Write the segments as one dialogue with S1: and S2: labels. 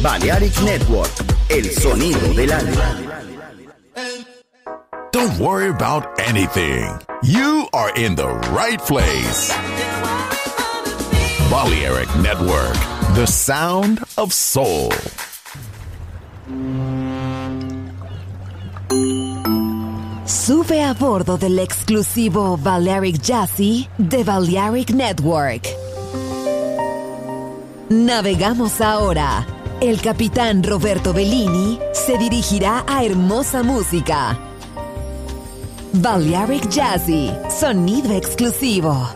S1: Balearic Network, el sonido del alma.
S2: Don't worry about anything. You are in the right place. Balearic Network, the sound of soul.
S3: Sube a bordo del exclusivo Balearic Jazzy de Balearic Network. Navegamos ahora. El capitán Roberto Bellini se dirigirá a hermosa música. Balearic Jazzy, sonido exclusivo.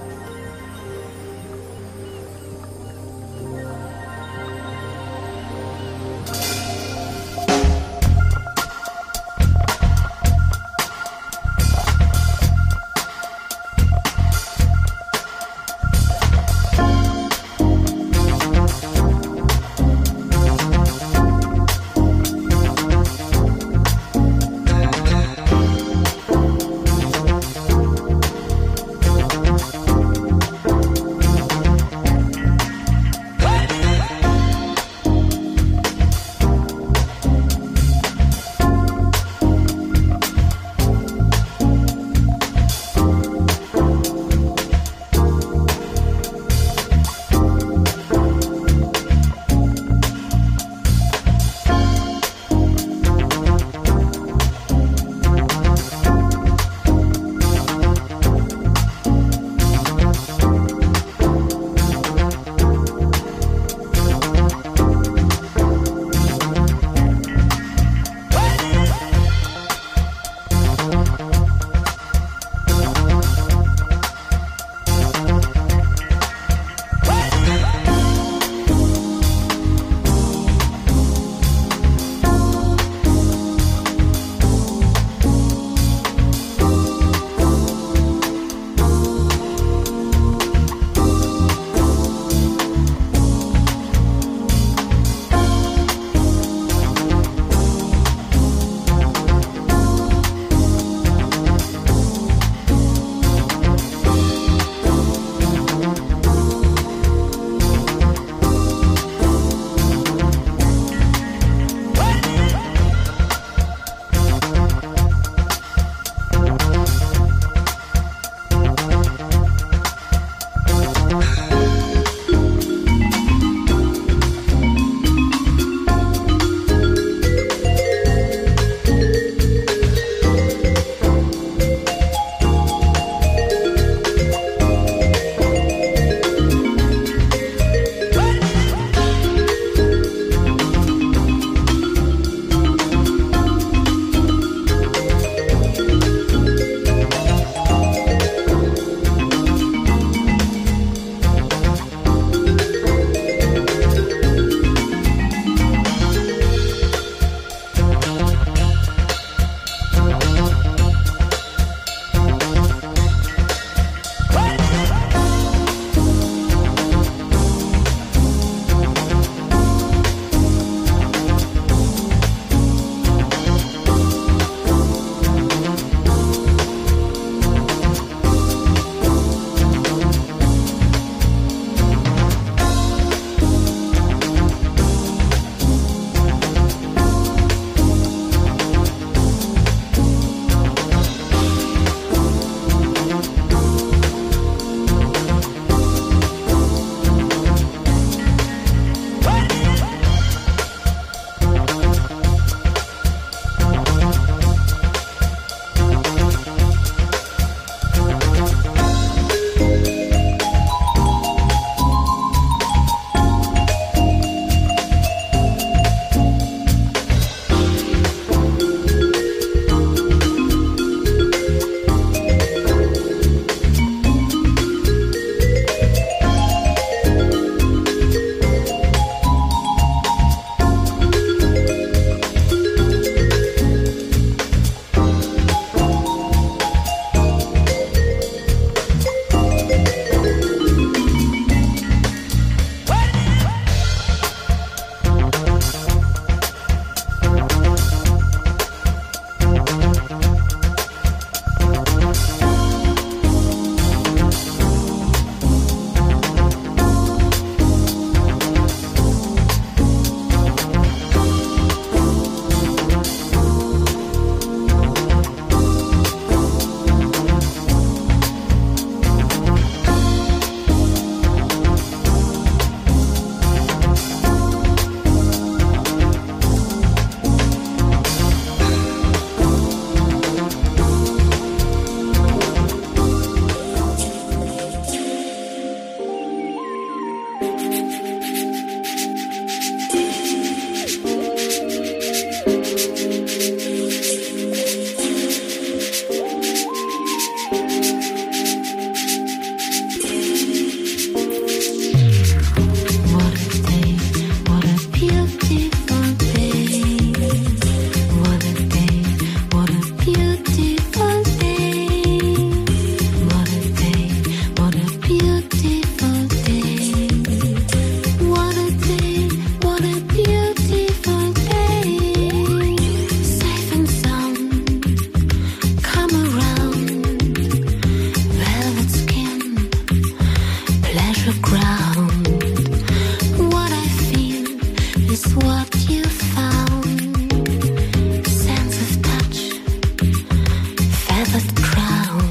S4: feathered crown.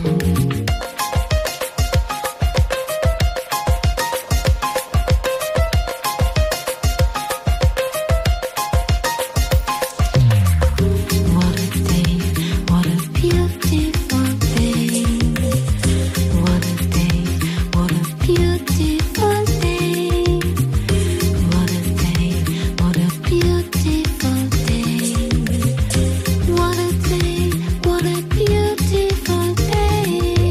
S4: What a day, what a beautiful day. What a day, what a beautiful day. What a day, what a beautiful day. What a day, what a beautiful day.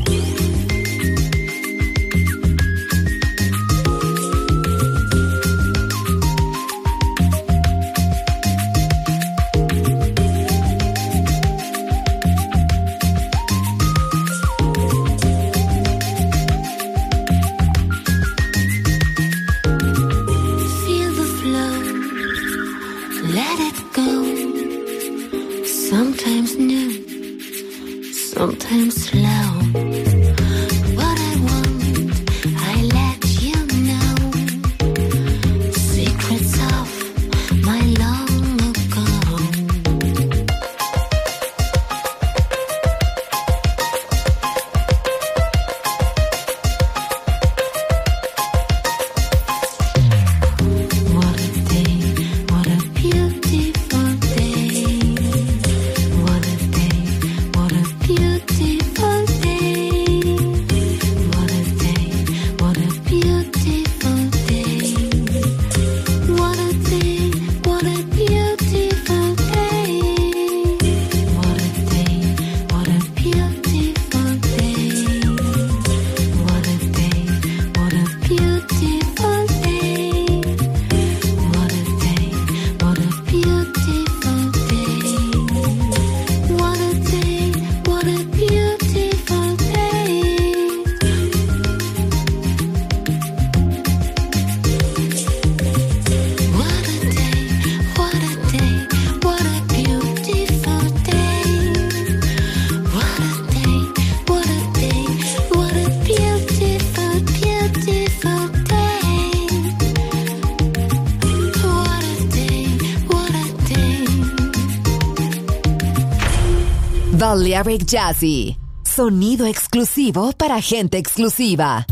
S4: Feel the flow, let it go. Sometimes new, sometimes slow. What I want, I let you know. Secrets of my long ago. What a day, what a beautiful day. What a day, what a beautiful day. What a day, what a beautiful day. What a day, what a beautiful day. What a day, what a beautiful day. What a day, what a beautiful day. What a day, what a beautiful day. What a day, what a beautiful day. What a day, what a day, what a beautiful day. What a day, what a day, what a beautiful, beautiful day. What a day, what a day.
S3: Balearic Jazzy. Sonido exclusivo para gente exclusiva.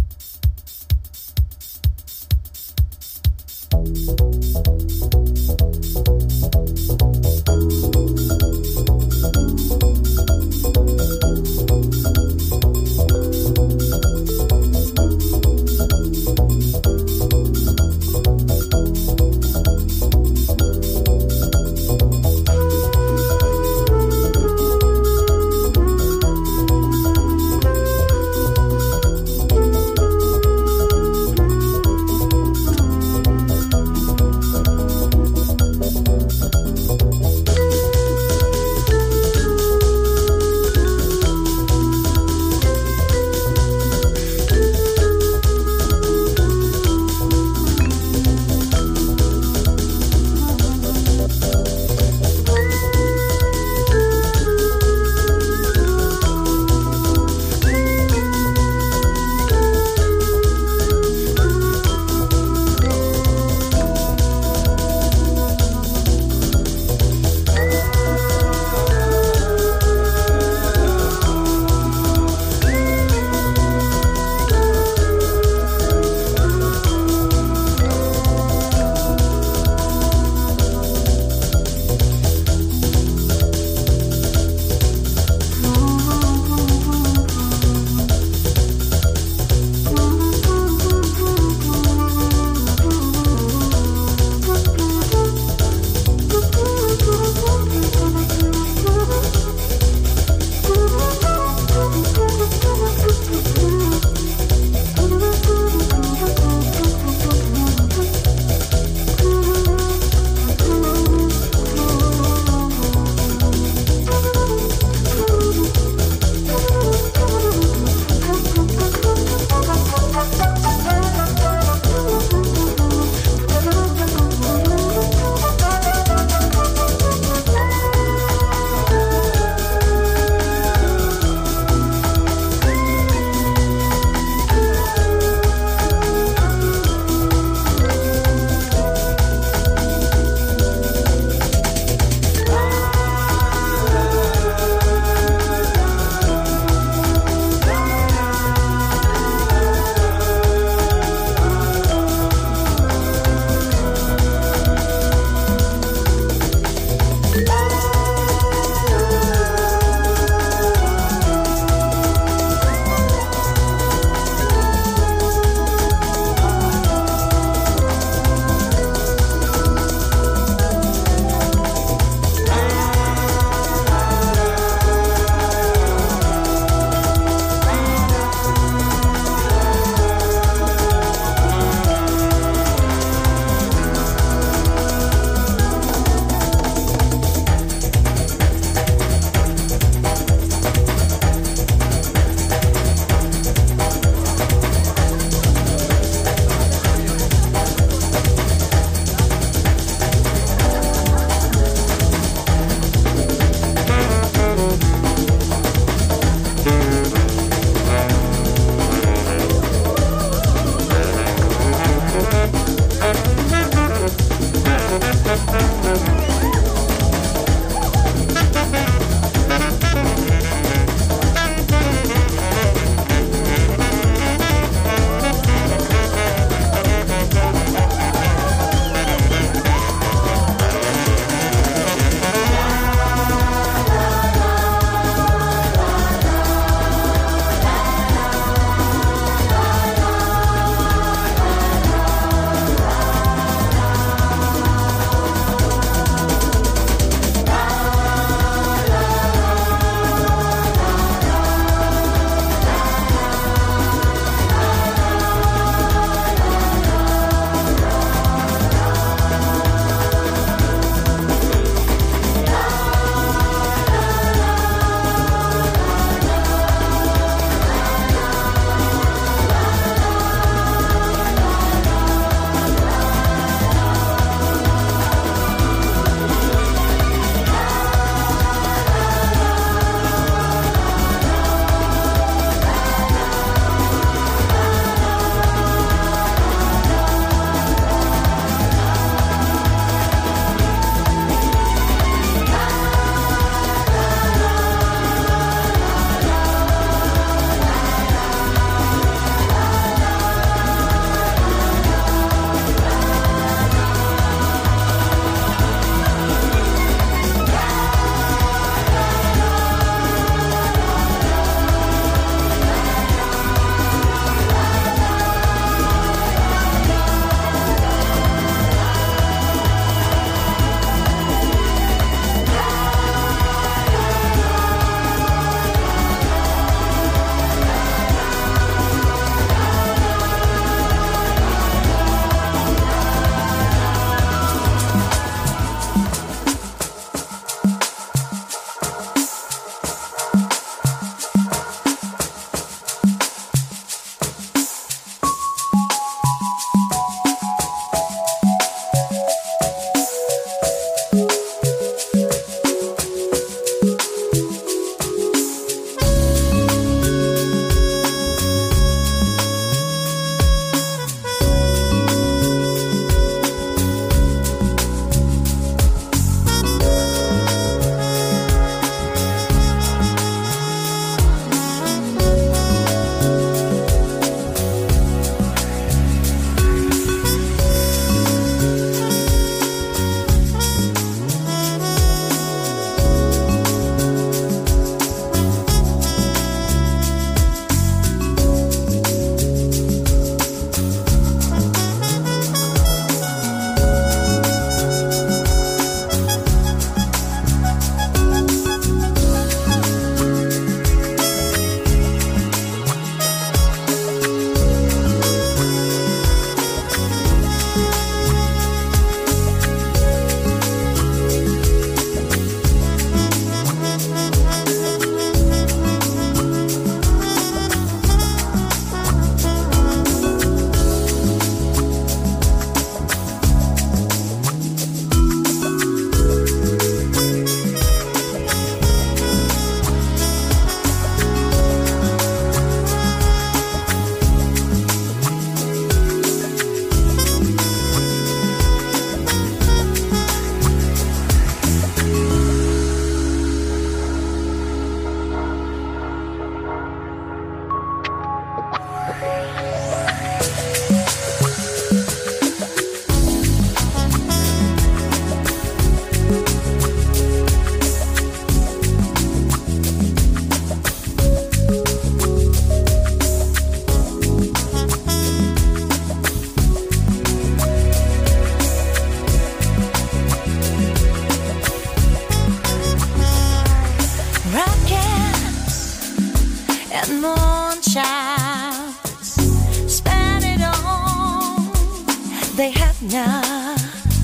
S4: and moonshine. Spend it all, they have not.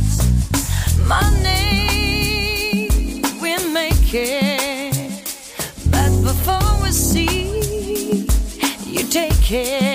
S4: Money, we make it, but before we see, you take it.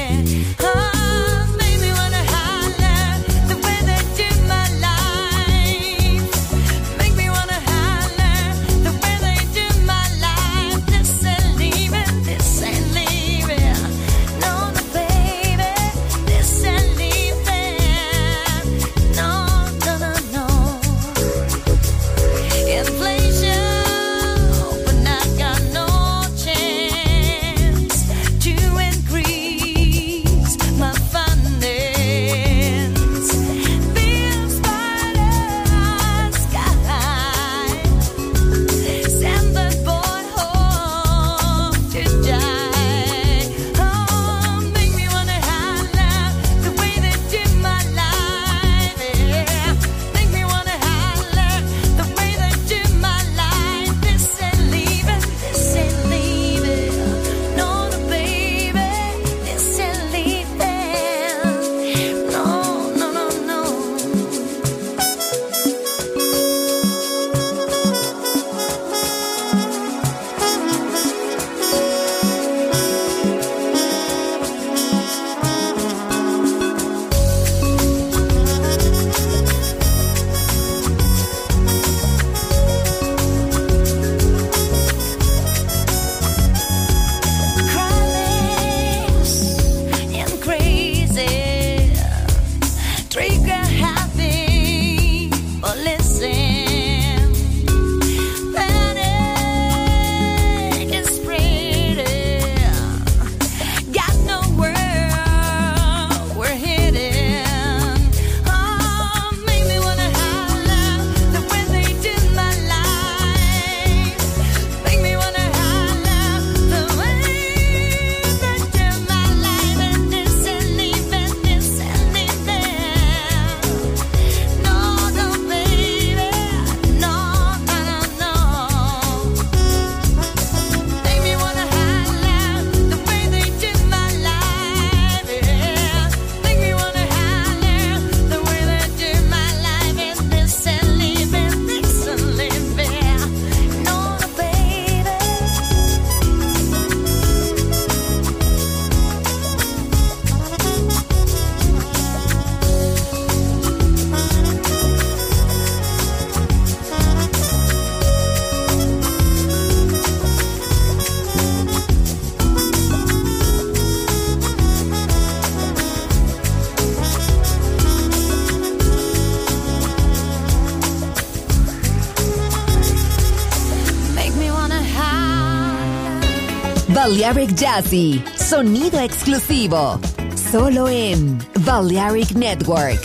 S3: Balearic Jazzy, sonido exclusivo, solo en Balearic Network.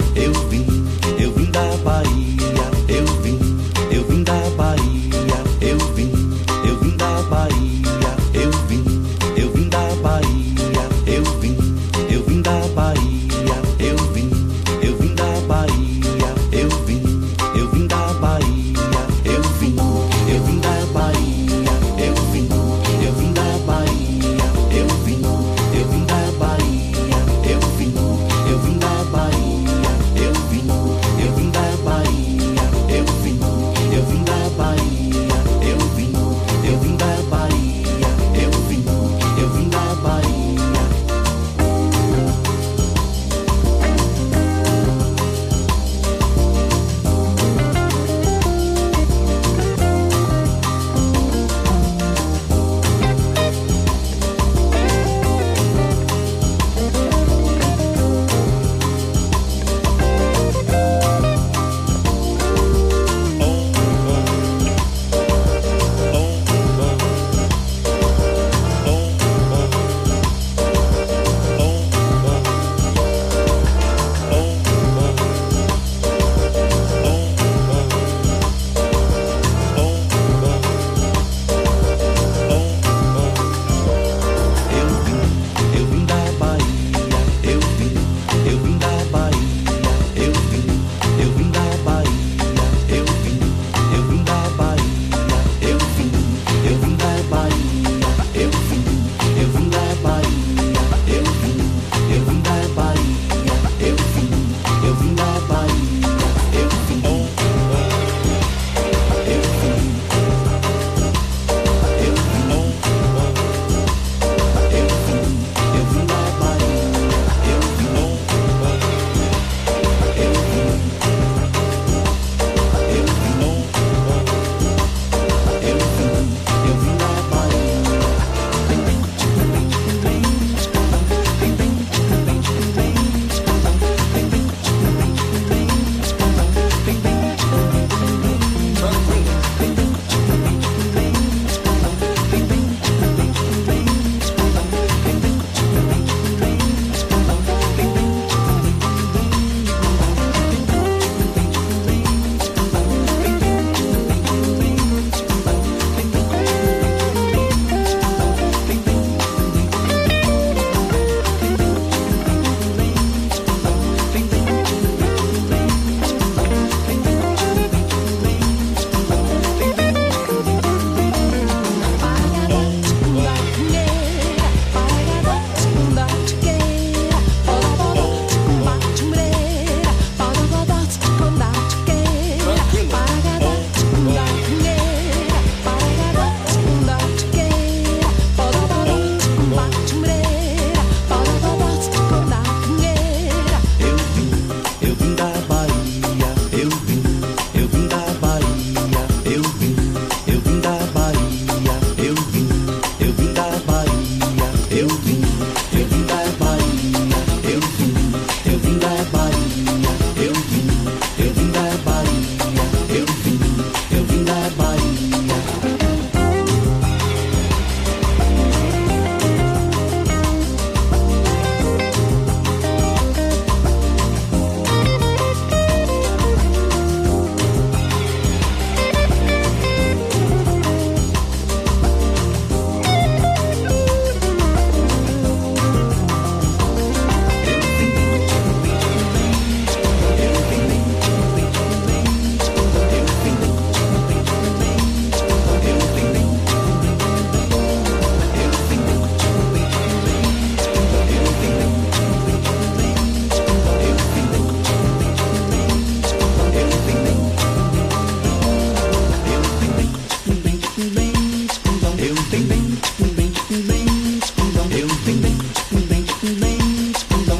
S5: Eu vim da Bahia,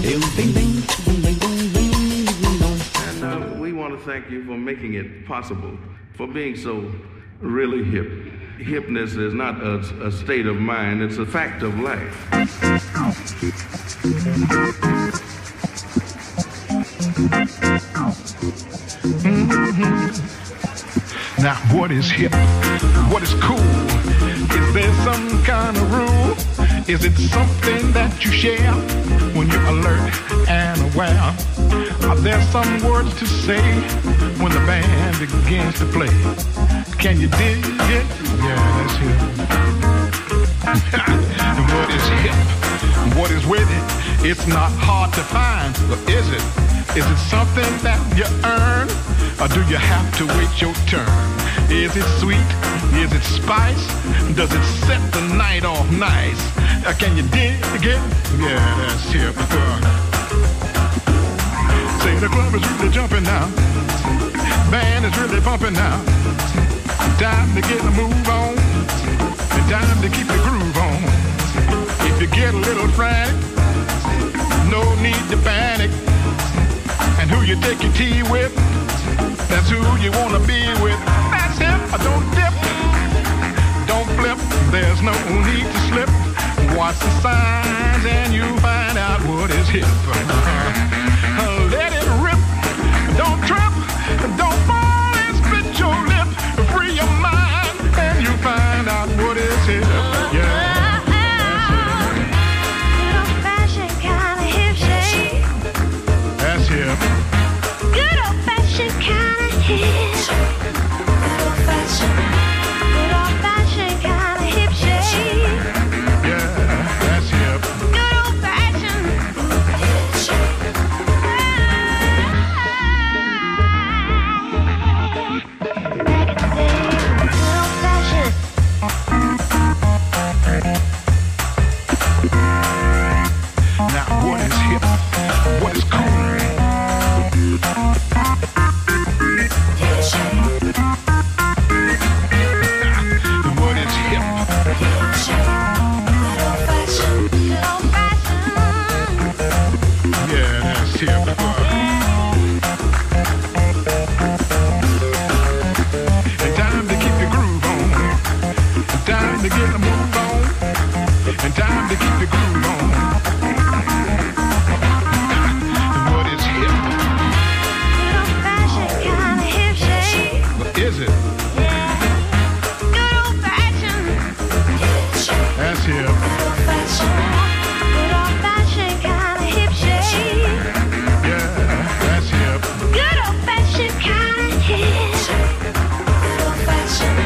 S5: And we want to thank you for making it possible, for being so really hip. Hipness is not a state of mind, it's a fact of life.
S6: Now, what is hip? What is cool? Is there some kind of rule? Is it something that you share when you're alert and aware? Are there some words to say when the band begins to play? Can you dig it? Yeah, that's hip. And what is hip? What is with it? It's not hard to find, but is it? Is it something that you earn? Or do you have to wait your turn? Is it sweet? Is it spice? Does it set the night off nice? Can you dig it? Yeah, that's hip. Say the club is really jumping now. Band is really bumping now. Time to get a move on. And time to keep the groove on. If you get a little frantic, no need to panic. And who you take your tea with, that's who you want to be with. That's hip. Don't dip, don't flip. There's no need to slip. Watch the signs and you find out what is hip. Let it rip. Don't trip. Don't fall and split your lip. Free your mind and you find out what is hip. Yeah. That's hip.
S4: Good old fashioned kind of hip. Good old fashioned kind of hip shade.
S6: Yeah, that's hip.
S4: Good old fashioned hip shade. Back in the day, good old fashioned.
S6: Now what is hip? What is cool? What is hip? Yeah, that's hip. And time to keep your groove on. And time to get a move on. And time to keep your groove on. What is hip?
S4: Good old fashioned kind of hip shade.
S6: What is it?
S4: Good old fashioned hip shade.
S6: That's hip.
S4: Good old fashioned kind of hip shade.
S6: Yeah, that's hip.
S4: Good old fashioned kind of hip. Good old fashioned.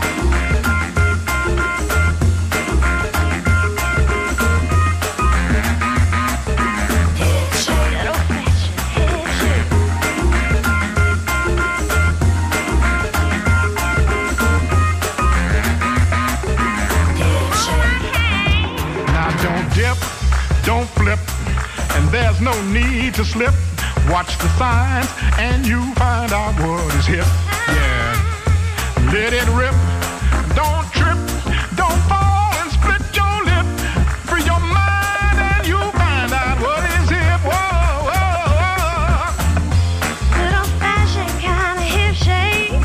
S6: Now don't dip, don't flip, and there's no need to slip. Watch the signs and you find out what is hip. Yeah, let it rip. Don't trip, don't fall and split your lip. Free your mind and you find out what is hip. Whoa, whoa, whoa.
S4: Good old fashioned kind of hip shade.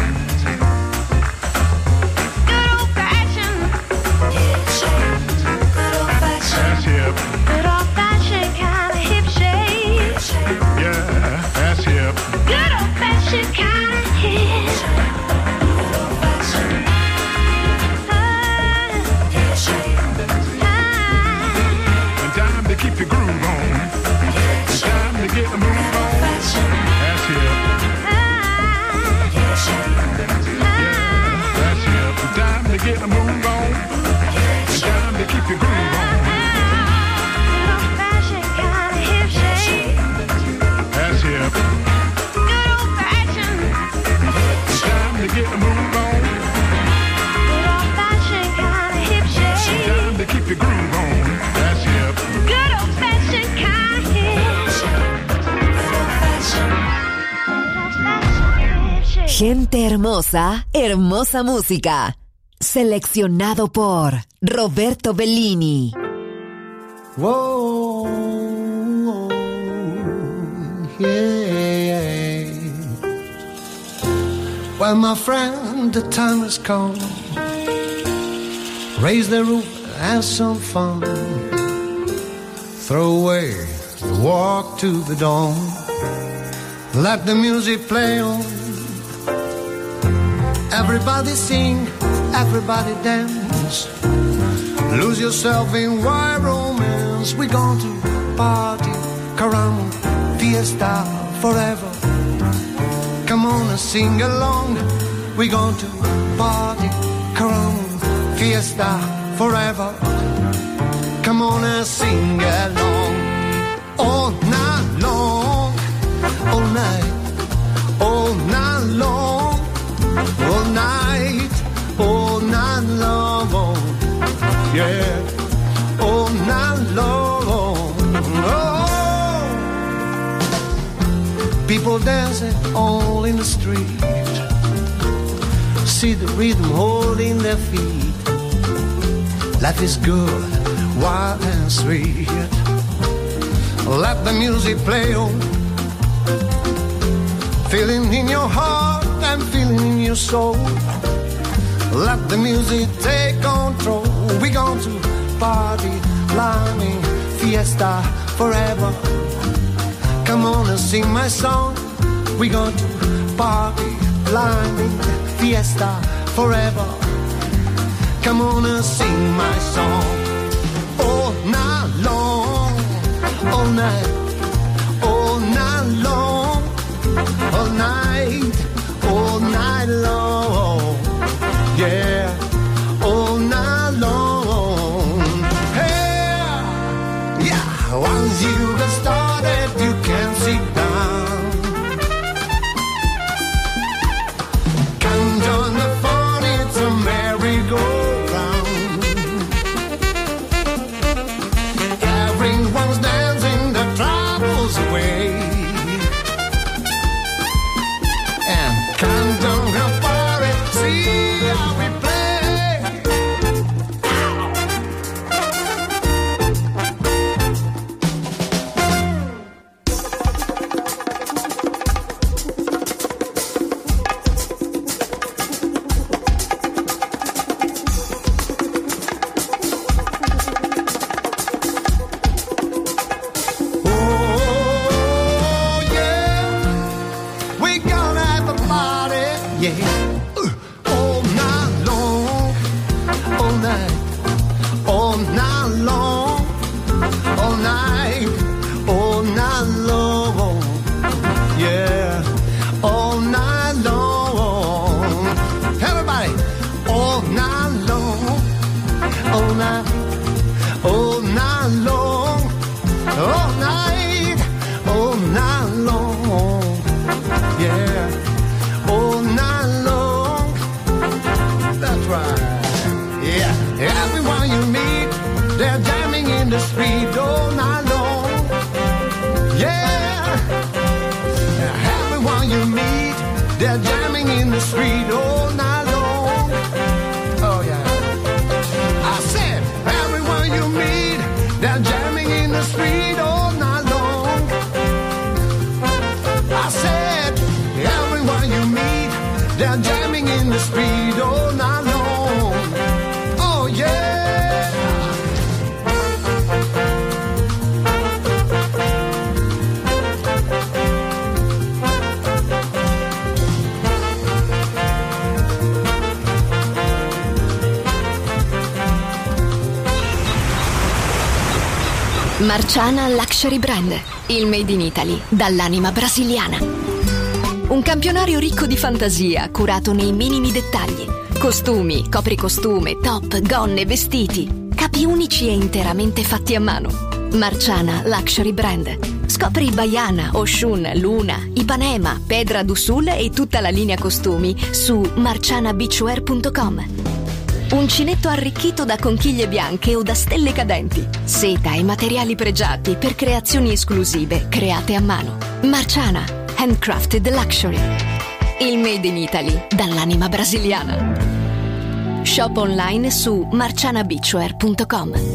S4: Good old fashioned hip shade. Good old fashioned.
S6: That's hip.
S4: Good old fashioned kind of hip shade.
S6: Yeah, that's hip.
S4: Good old fashioned kind of hip. Good old fashioned. Hip shade.
S6: And time to keep your groove on. And time to get the move on. That's hip. Yeah, that's hip. And time to get the move on. And time to keep your groove on.
S4: Good old fashioned kind of hip shade.
S6: That's hip.
S4: Good old fashioned.
S6: And time to get the move on.
S4: Good old fashioned kind of hip
S6: And
S4: shade.
S6: time to keep your groove on. That's hip.
S4: Good old fashioned kind of hip shade. Good old fashioned. Good old fashioned hip shade.
S3: Gente hermosa, hermosa música. Seleccionado por Roberto Bellini.
S7: Whoa, yeah. Well, my friend, the time has come. Raise the roof, have some fun. Throw away the walk to the dawn. Let the music play on. Everybody sing, everybody dance. Lose yourself in wild romance. We're going to party, caramba, fiesta forever. Come on and sing along. We're going to party, caramba, fiesta forever. Come on and sing along. All night long, all night, all night long, all night long, yeah, all night long. Oh, people dancing all in the street. See the rhythm holding their feet. Life is good, wild and sweet. Let the music play on. Feeling in your heart and feeling in your soul. Let the music take control. We're going to party, climbing, fiesta forever. Come on and sing my song. We're going to party, climbing, fiesta forever. Come on and sing my song. All night long, all night, all night long, all night long, yeah, all night long. Hey, yeah, once you get started, you can't sit down. Come join the fun, it's a merry-go-round. Everyone's dancing, the troubles away. And come down and party, see how we play.
S8: Marciana Luxury Brand, il made in Italy dall'anima brasiliana. Un campionario ricco di fantasia, curato nei minimi dettagli. Costumi, copricostume, top, gonne, vestiti. Capi unici e interamente fatti a mano. Marciana Luxury Brand. Scopri Baiana, Oshun, Luna, Ipanema, Pedra do Sul e tutta la linea costumi su marcianabeachwear.com. Uncinetto arricchito da conchiglie bianche o da stelle cadenti. Seta e materiali pregiati per creazioni esclusive create a mano. Marciana, handcrafted luxury. Il made in Italy dall'anima brasiliana. Shop online su marcianabeachwear.com.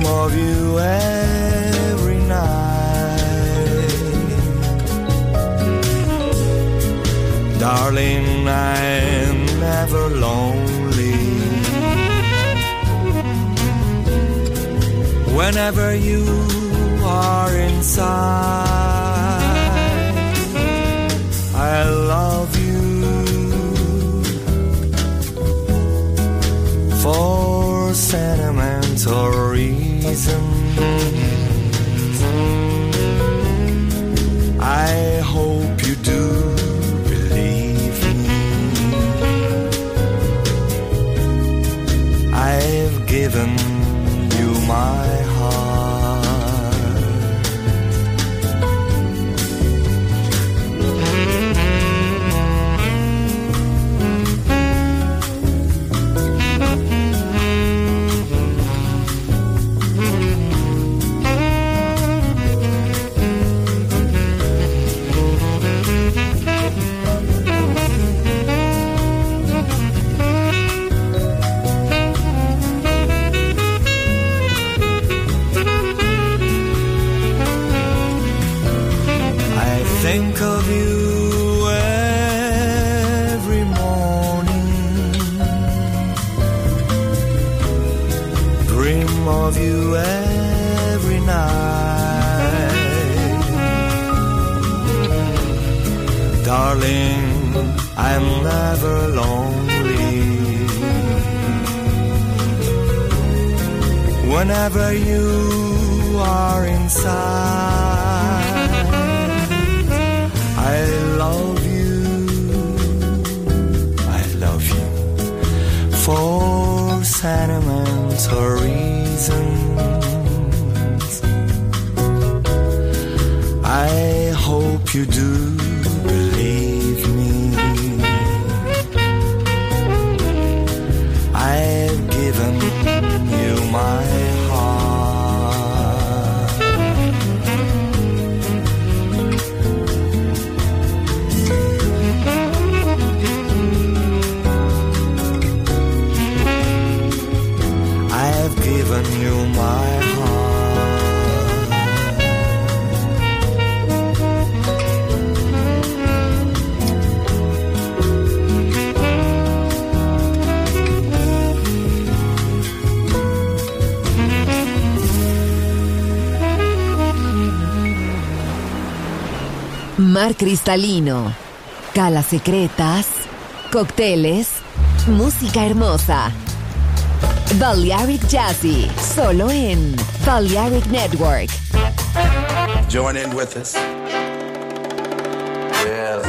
S7: of you every night. Darling, I'm never lonely. Whenever you are inside, I love you. For sentimental reasons, I hope you do believe me. I've given you my think of you every morning, dream of you every night. Darling, I'm never lonely. Whenever you are inside, I love you for sentimental reasons. I hope you do believe me. I've given you my given you my
S3: Mar cristalino, calas secretas, cócteles, música hermosa. Balearic Jazzy, solo en Balearic Network.
S1: Join in with us. Yes.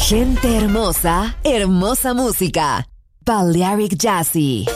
S3: Gente hermosa, hermosa música. Balearic Jazzy.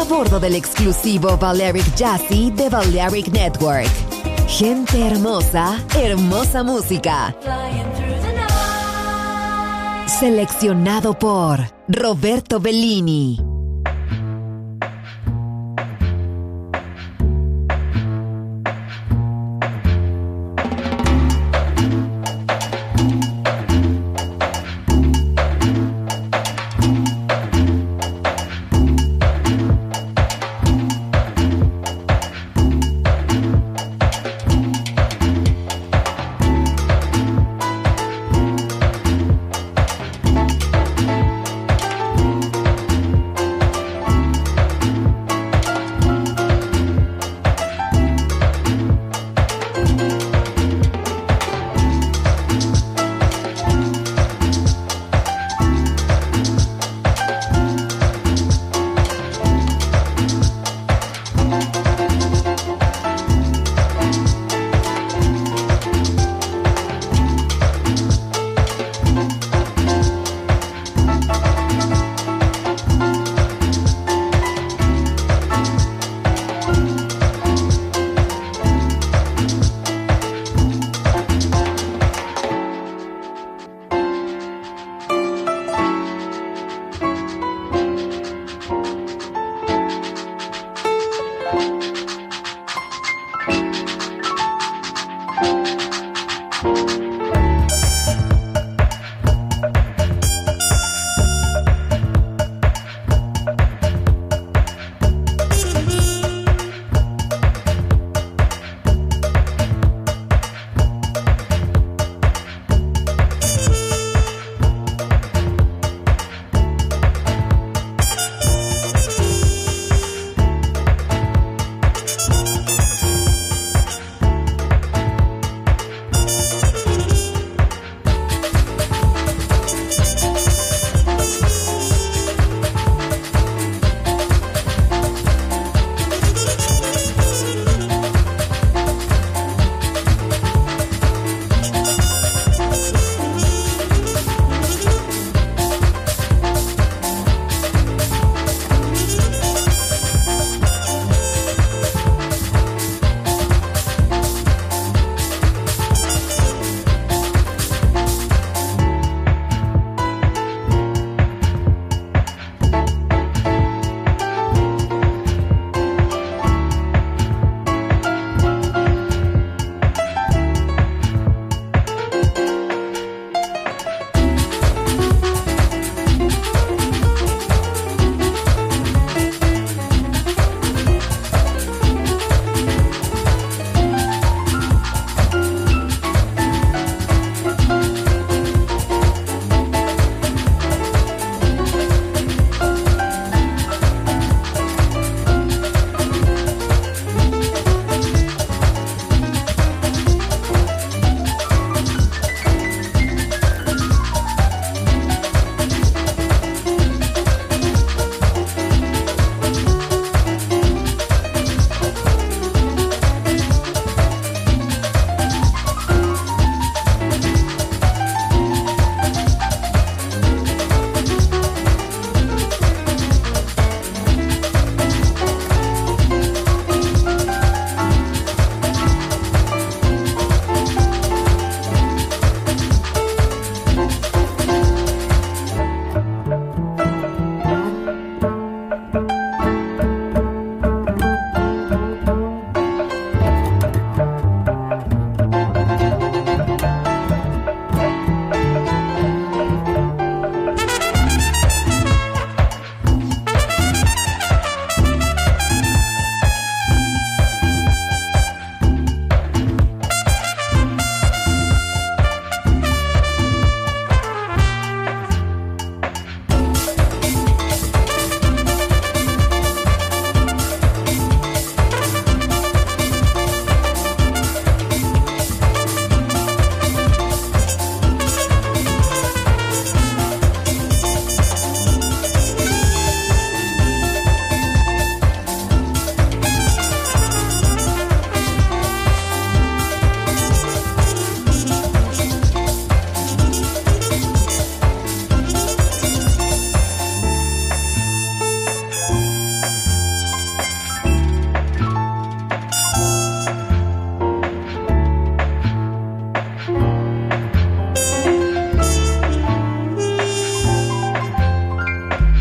S3: bordo del exclusivo Balearic Jazzy de Balearic Network. Gente hermosa, hermosa música. Seleccionado por Roberto Bellini.